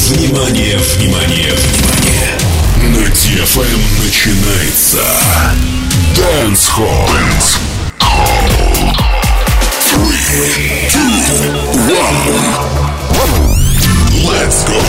Внимание, внимание, внимание! На DFM начинается Dance Hall. 3, 2, 1. Let's go!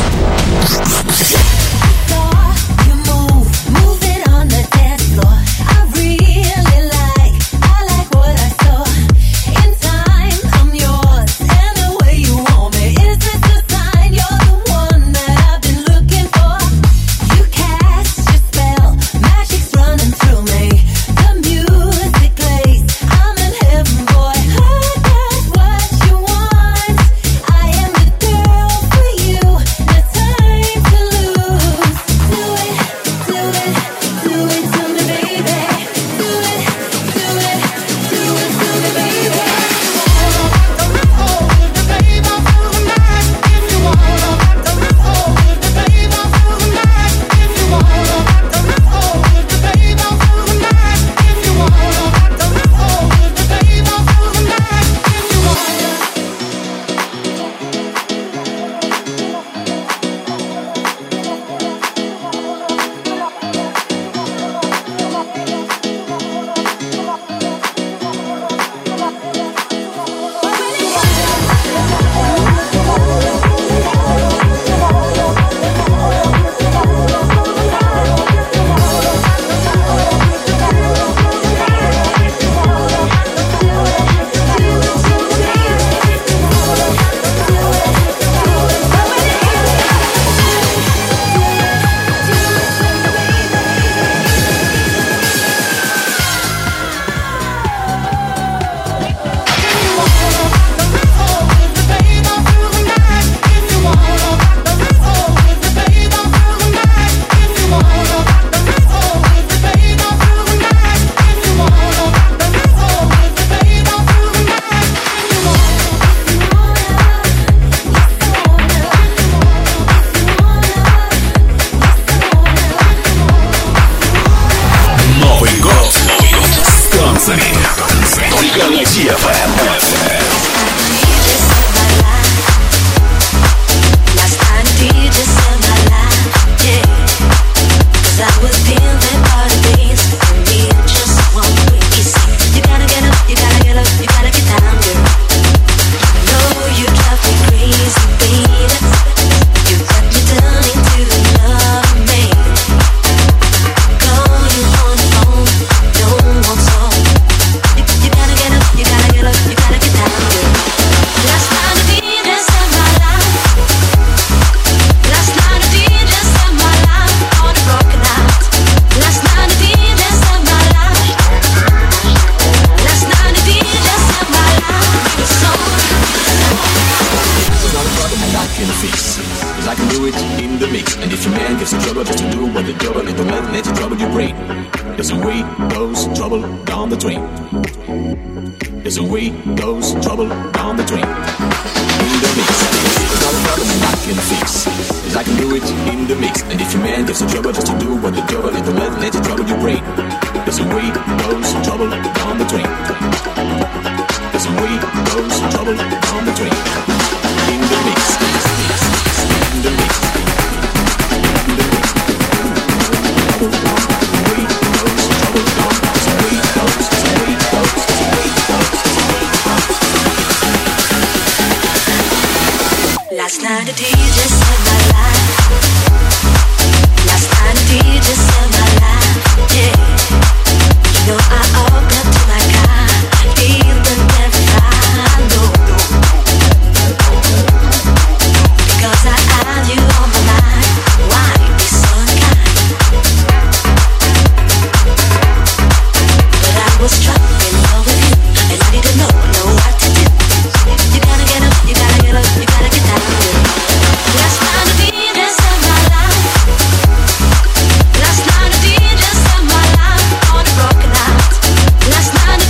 Только на DFM. Last night the DJ saved my life. Last night the DJ saved my life. Yeah, you know I walked up to my car, feeling terrified. No, because I had you on my mind. Why be so unkind? But I was struck in love with you, and I didn't know what to do. You gotta get up, you gotta get up, you gotta get down. Last night the DJ saved my life. Last night the DJ saved my life on a broken heart. Last night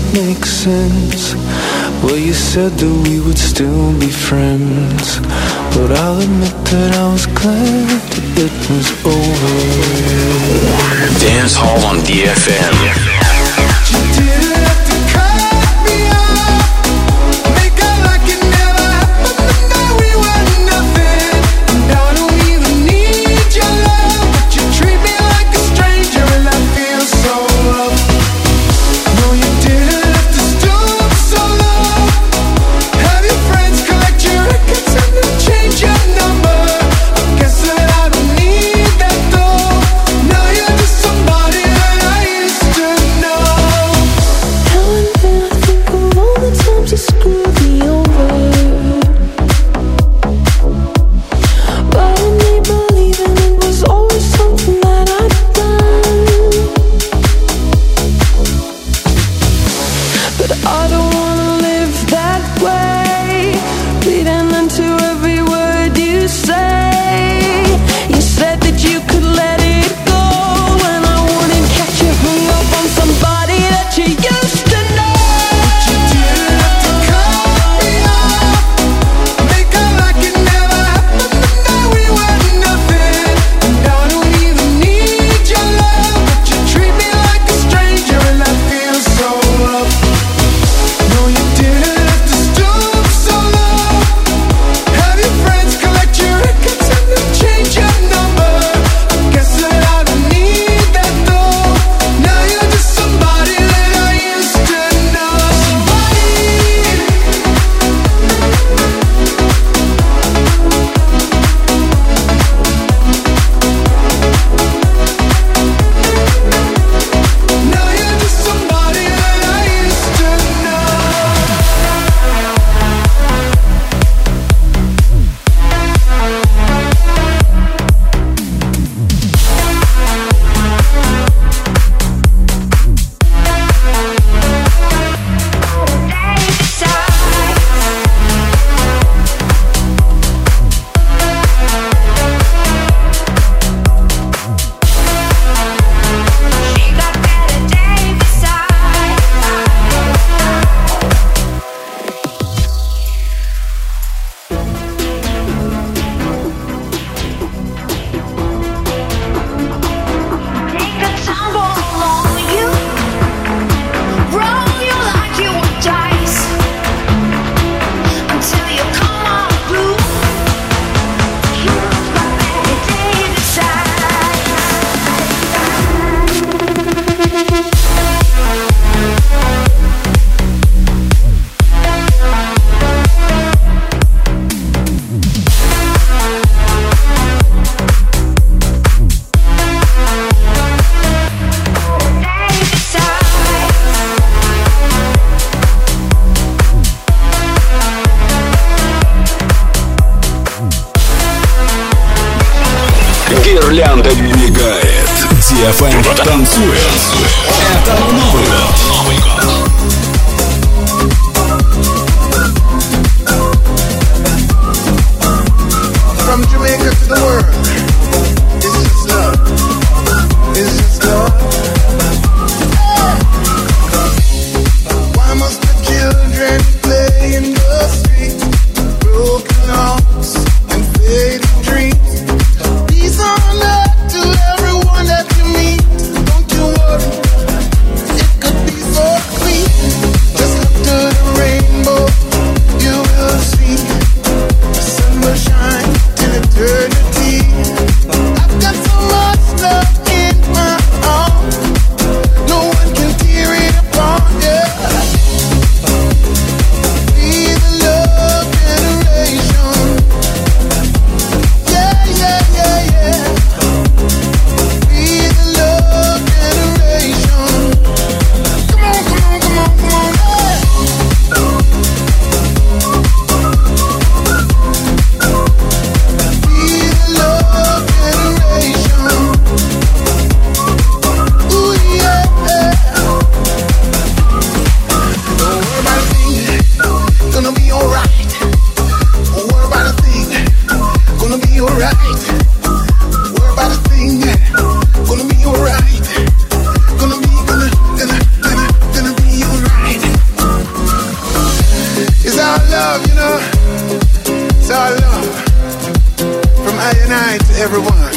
make sense. Well, you said that we would still be friends, but I'll admit that I was glad that it was over. Dance Hall on DFM. You didn't have to cut me off, make out like it never happened, and that we were nothing. And I don't even need your love, but you treat me like a stranger, and I feel so loved. No, you didn't have to stoop so low, have your friends collect your records and then change your number. I guess that I don't need that though. Now you're just somebody that I used to know. Now and then I think of all the times you screwed me over, but I need believing it was always something that I'd done. But I don't wanna live that way, reading into every word you say. You said that you could let it go, and I wouldn't catch you hung up on somebody that you used to know. But you didn't have to cut me off, make out like it never happened, and that we were nothing. And I don't even need your love, but you treat me like a stranger, and I feel so loved. No, you didn't have to stoop so low, have your friends collect your records and then change your number. I guess that I don't need that though. Now you're just somebody that I used to know. Now you're just somebody that I used to know. Take a tumble along you, roll you like you were dice, until you come unglued. Here's my Betty Davis Гирлянда мигает. DFM танцует. Это Новый год. From Jamaica to the world, it's just love. It's just love. Why must the children play in the street? Broken hearts and faded dreams. Peace on earth to everyone that you meet. Don't you worry, it could be so clear.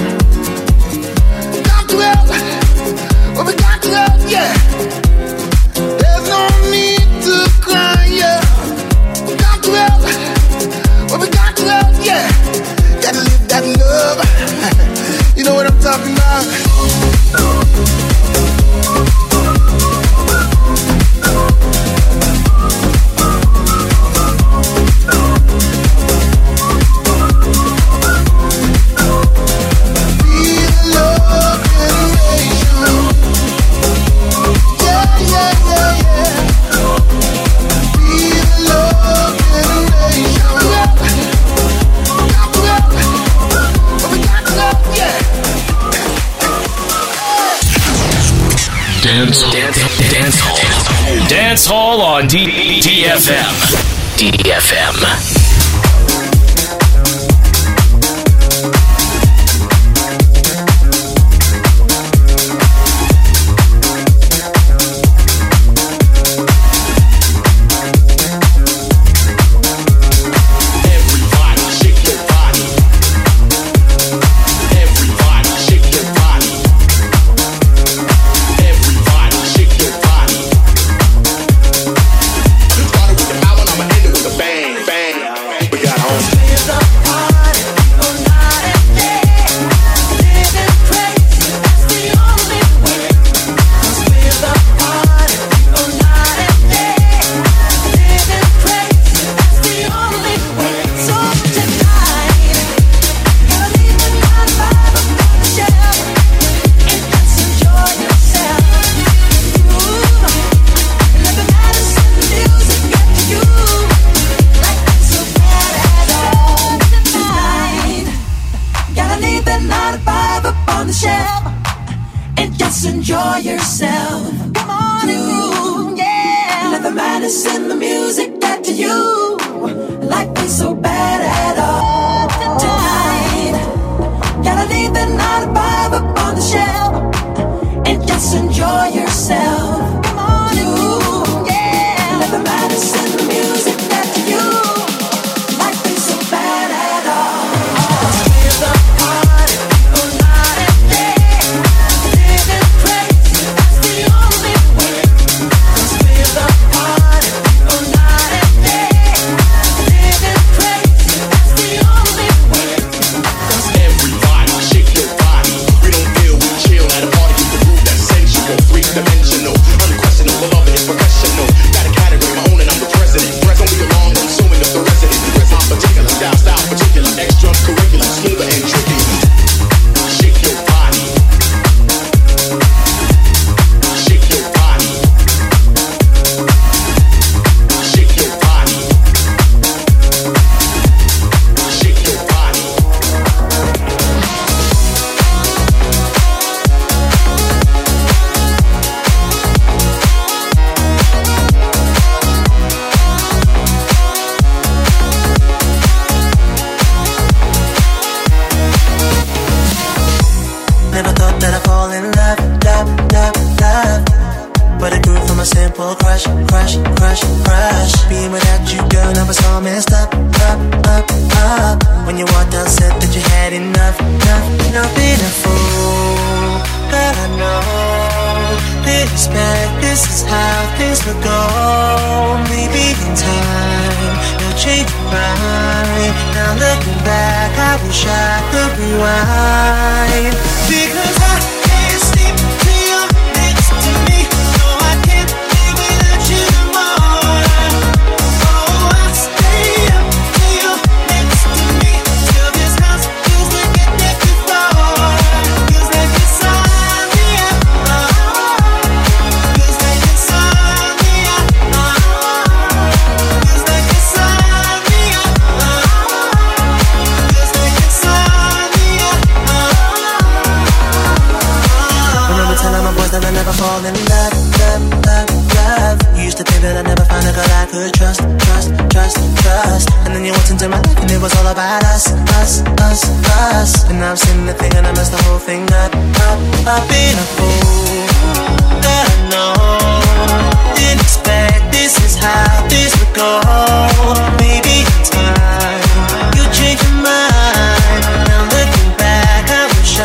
Got to help, well, we got to help, yeah. There's no need to cry, yeah. Got to help, well, we got to help, yeah. Gotta live that love. You know what I'm talking about? Dance Hall on DFM. DFM. Maybe in time you change your mind. Now looking back, I wish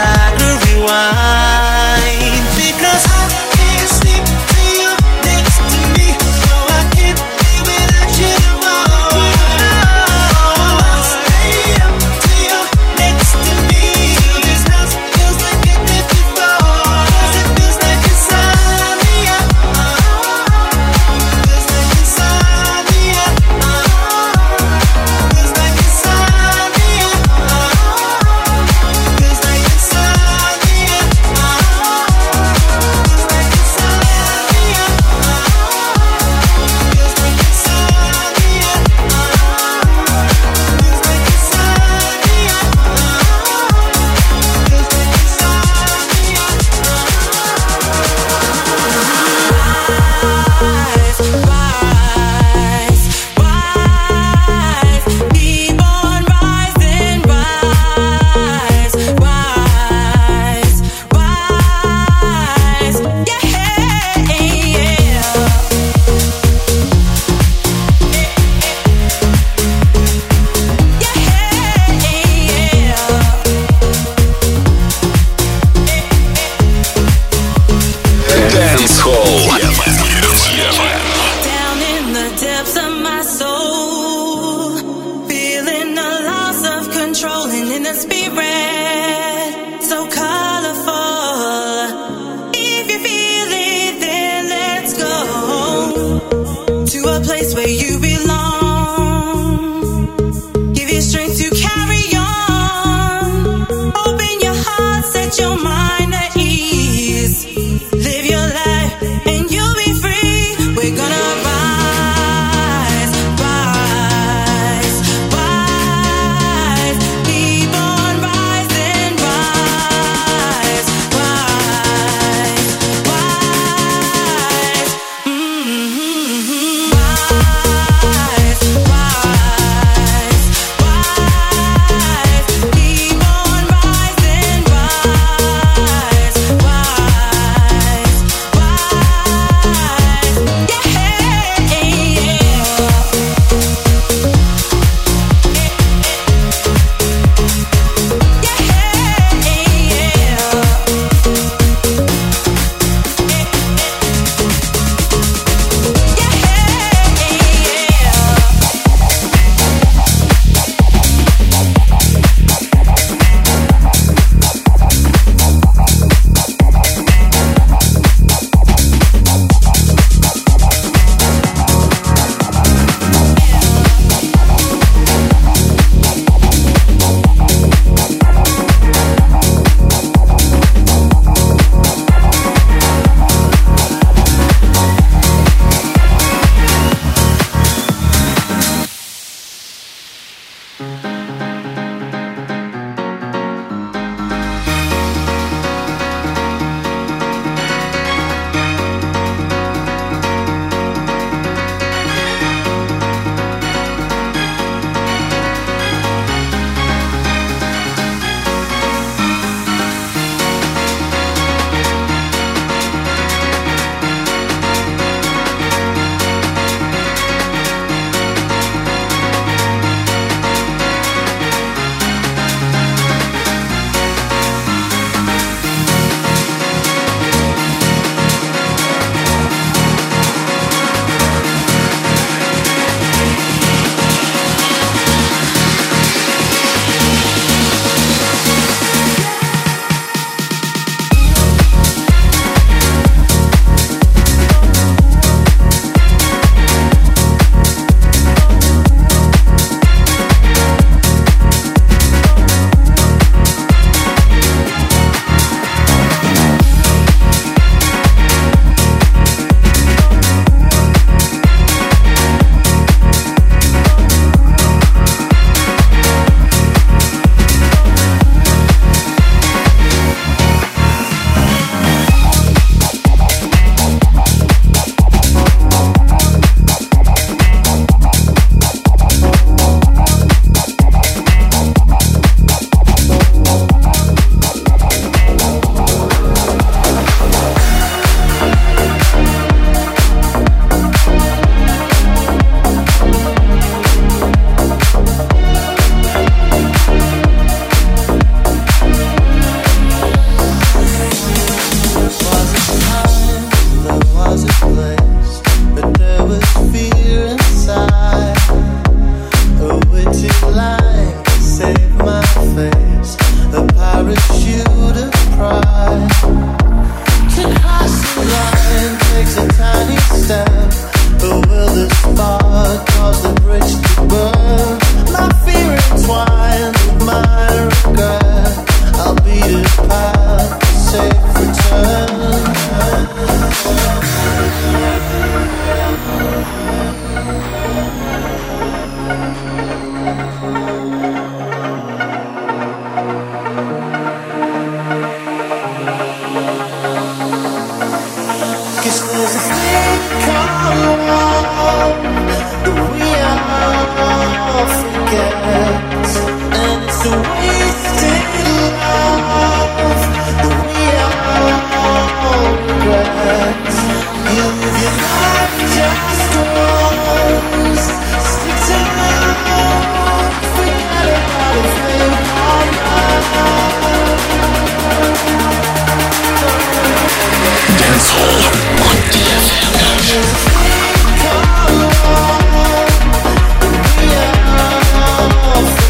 Dance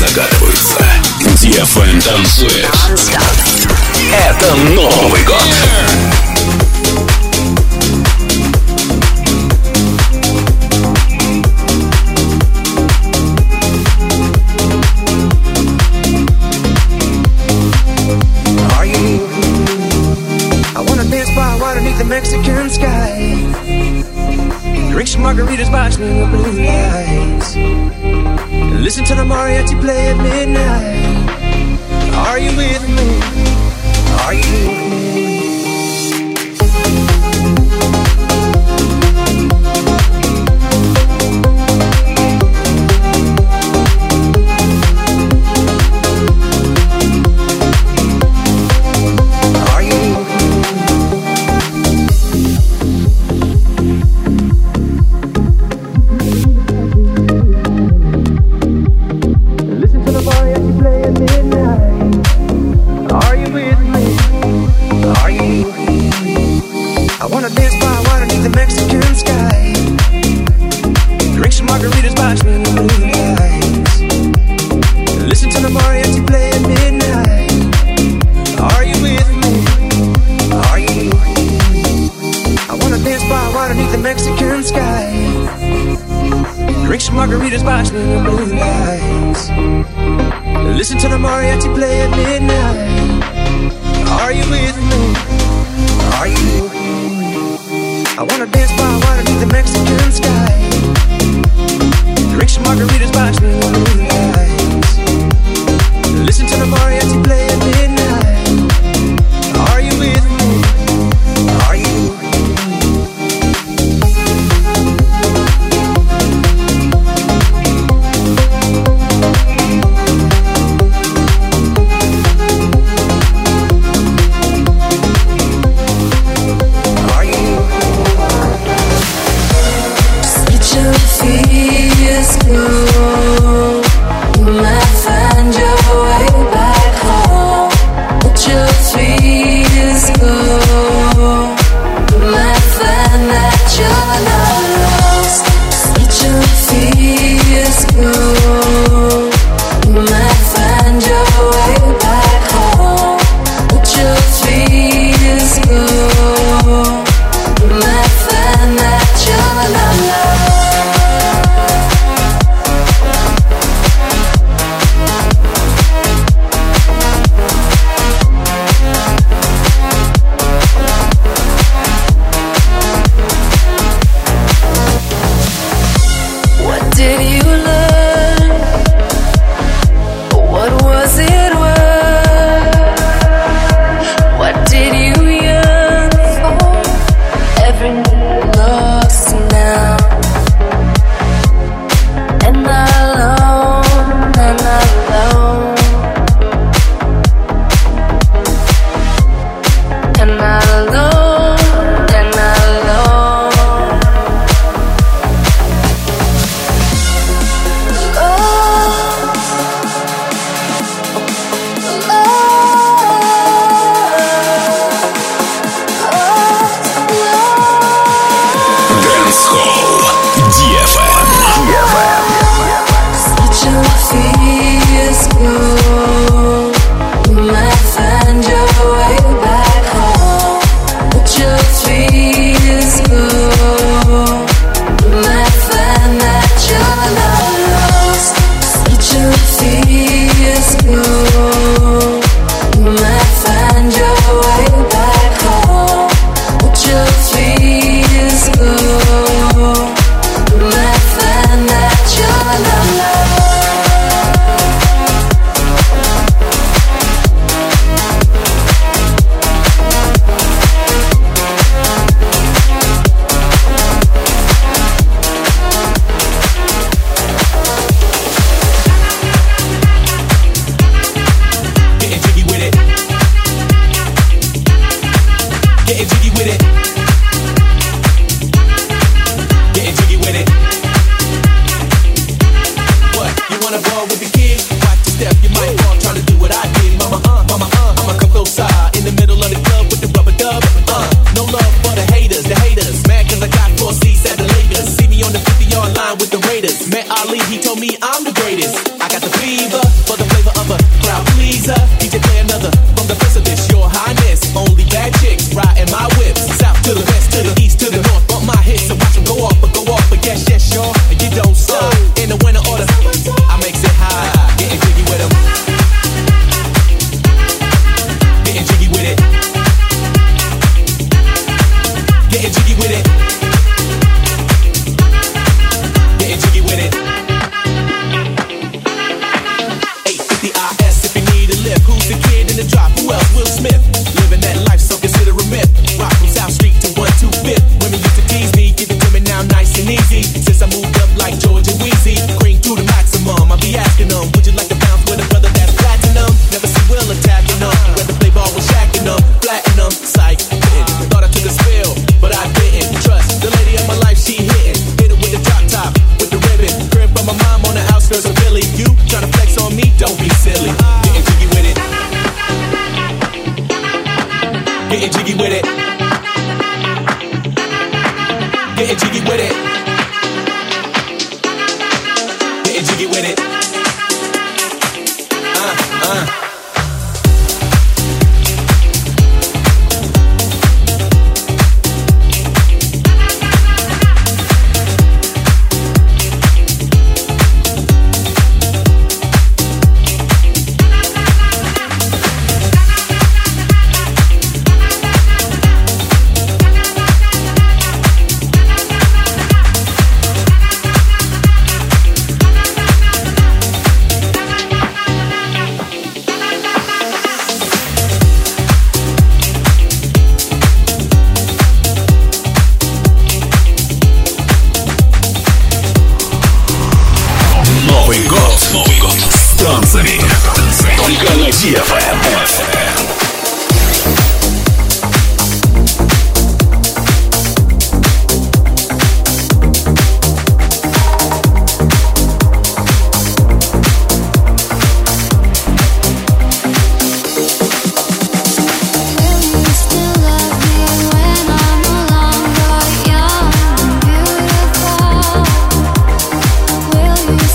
догадываются. DFM танцует. Это Новый год. The Mexican sky, drink some margaritas, watching the blue lights, listen to the mariachi play at midnight. Are you with me? Are you with me? Margaritas watching the blue lights, listen to the mariachi play at midnight. Are you with me? Are you with me? I wanna dance by water beneath the Mexican sky, drink some margaritas watching the blue lights, listen to the mariachi play at midnight. Are you with me? Are you with me? easy. Since I moved up like George and Weezy, cream to the maximum. I be asking them, would you like to bounce with a brother that's platinum? Never see Will attacking them. Rather play ball with shacking them, flattening them. Psych, thought I took a spill, but I didn't. Trust the lady of my life, she hitting. Hit it with the drop top, with the ribbon. Crib from my mom on the outskirts of Philly. You tryna flex on me? Don't be silly. Getting jiggy with it. Getting jiggy with it. Getting jiggy with it. Getting jiggy with it. Новый год с танцами. Только на DFM.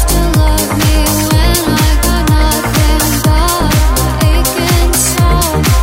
Will you still love me when I got nothing but my aching soul?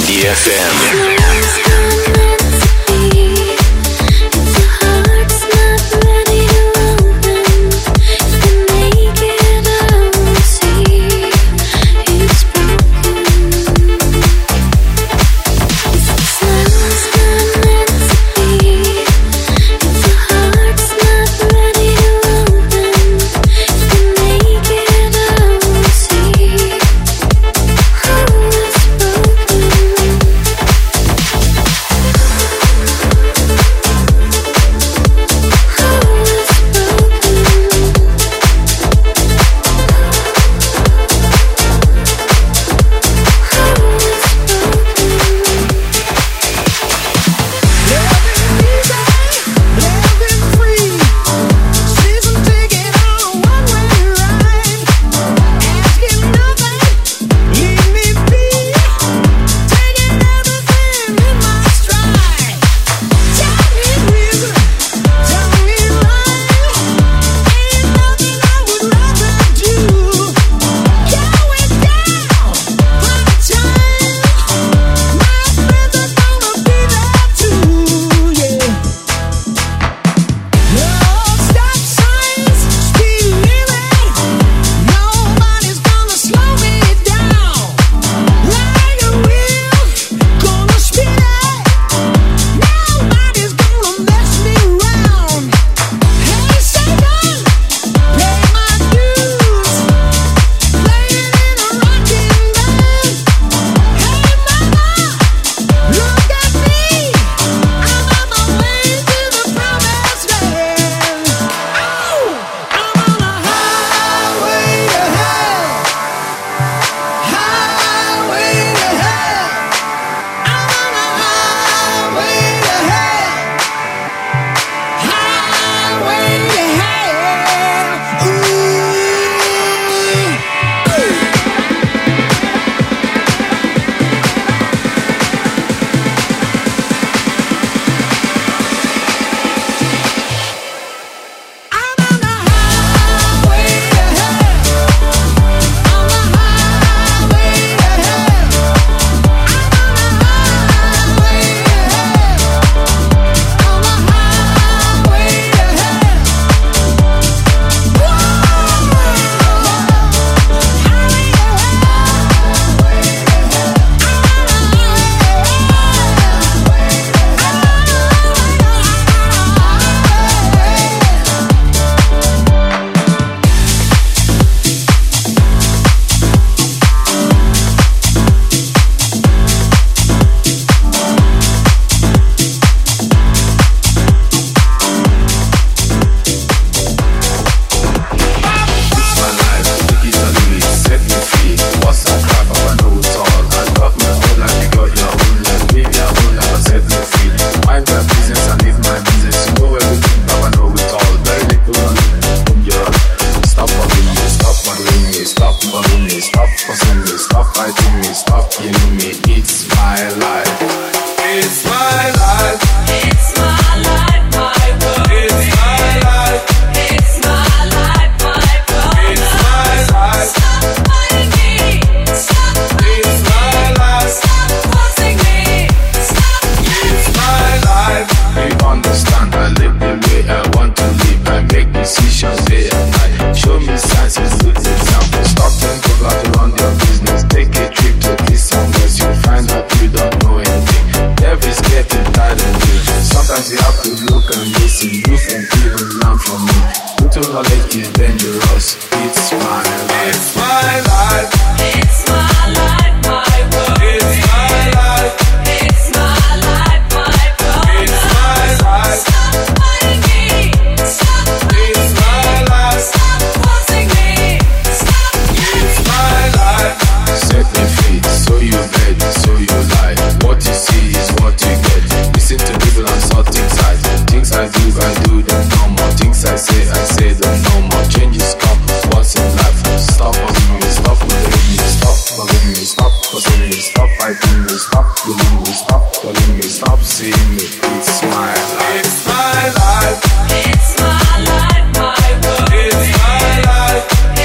DFM.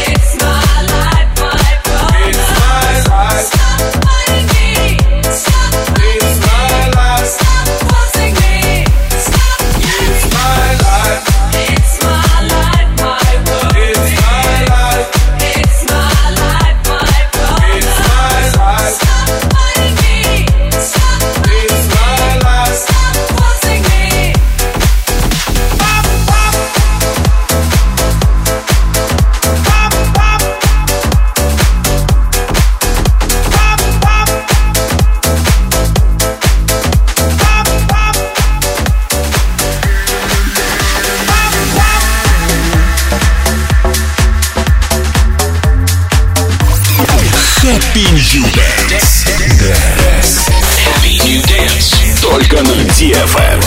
Stop DFM.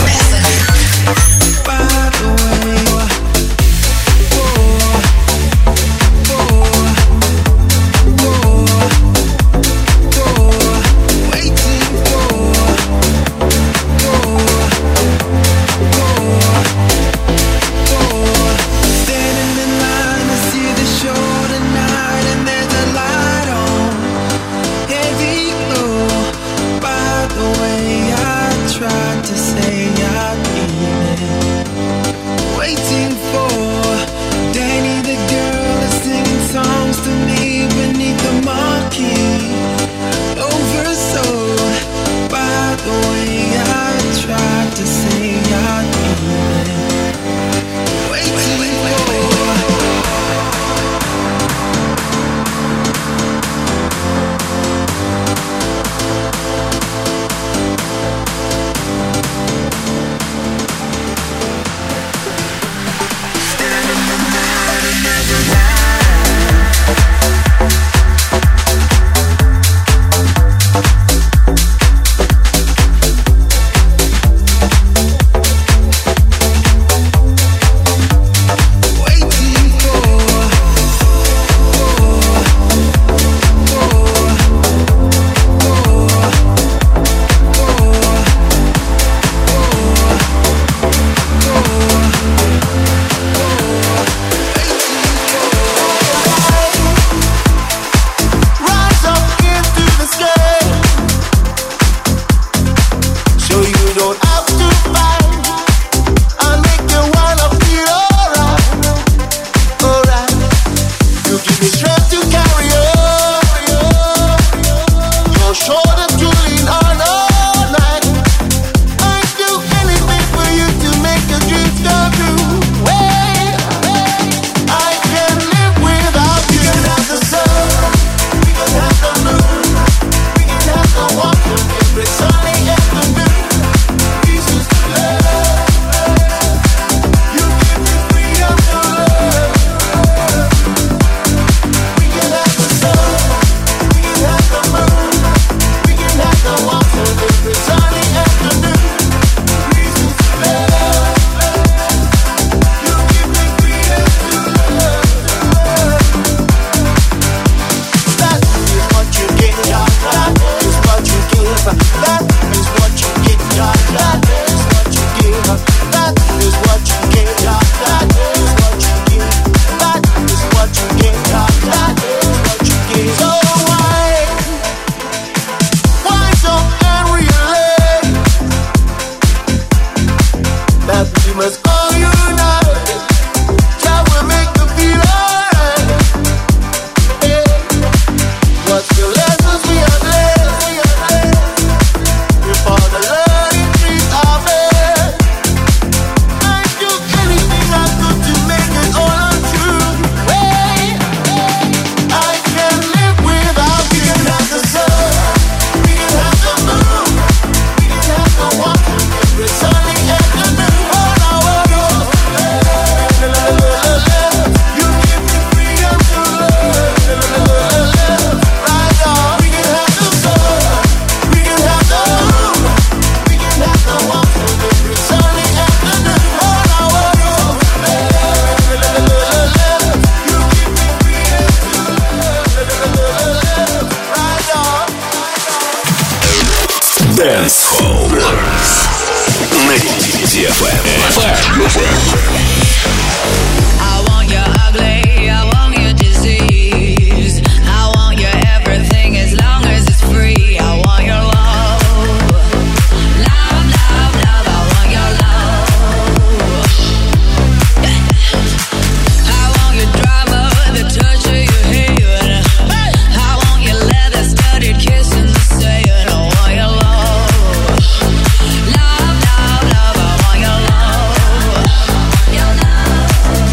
Dance Hall на DFM. I want your ugly, I want your disease. I want your everything as long as it's free. I want your love. Love, love, love, I want your love. I want your drama, the touch of your hair. I want your leather studded kiss and the saying. I want your love. Love, love, love, I want your love. Your love.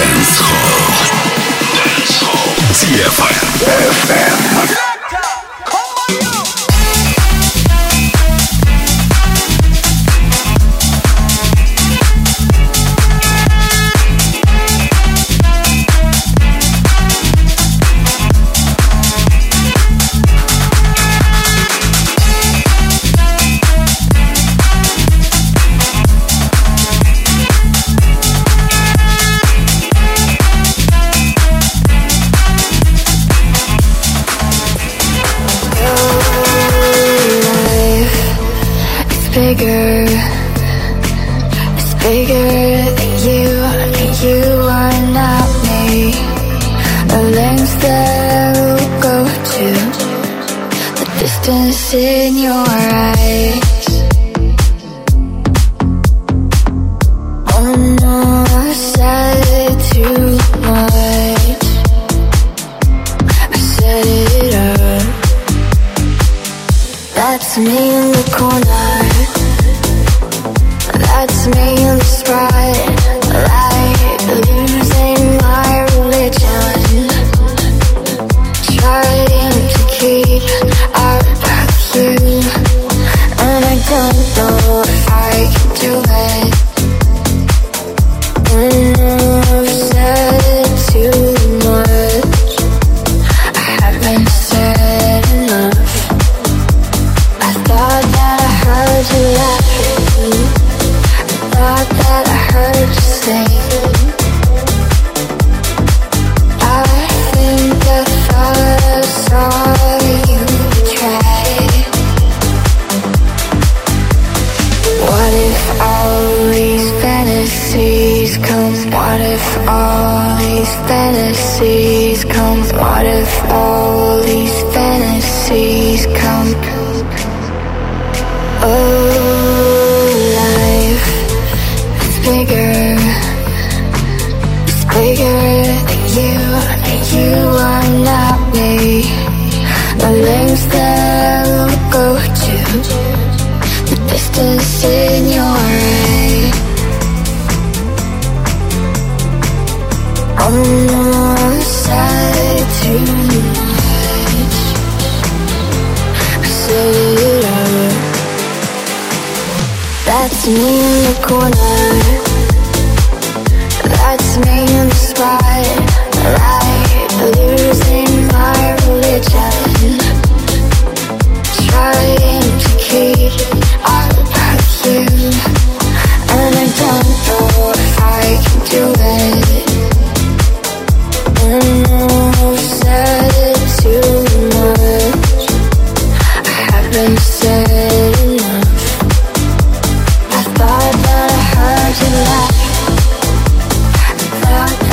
DFM. In your eyes, oh no, I said too much. I set it up. That's me in the corner. That's me in the spotlight, losing my religion, trying to keep our you, and I don't know if I can do it. I've said too much. I haven't said enough. I thought that I heard you laughing. I thought that I heard you sing. I think I thought I saw you try. What if all these fantasies come? What if all these fantasies come? What if all these fantasies come? Oh, life is bigger. It's bigger than you. You are not me. The lengths that will go to, the distance in your eye. Oh no, I said too much. I set it up. That's me in the corner. That's me in the spotlight, losing my religion, trying to keep our perfume, and I don't know if I can do it. I've said too much. I haven't said enough. I thought that I heard you laugh. I thought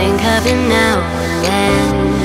think of you now and then.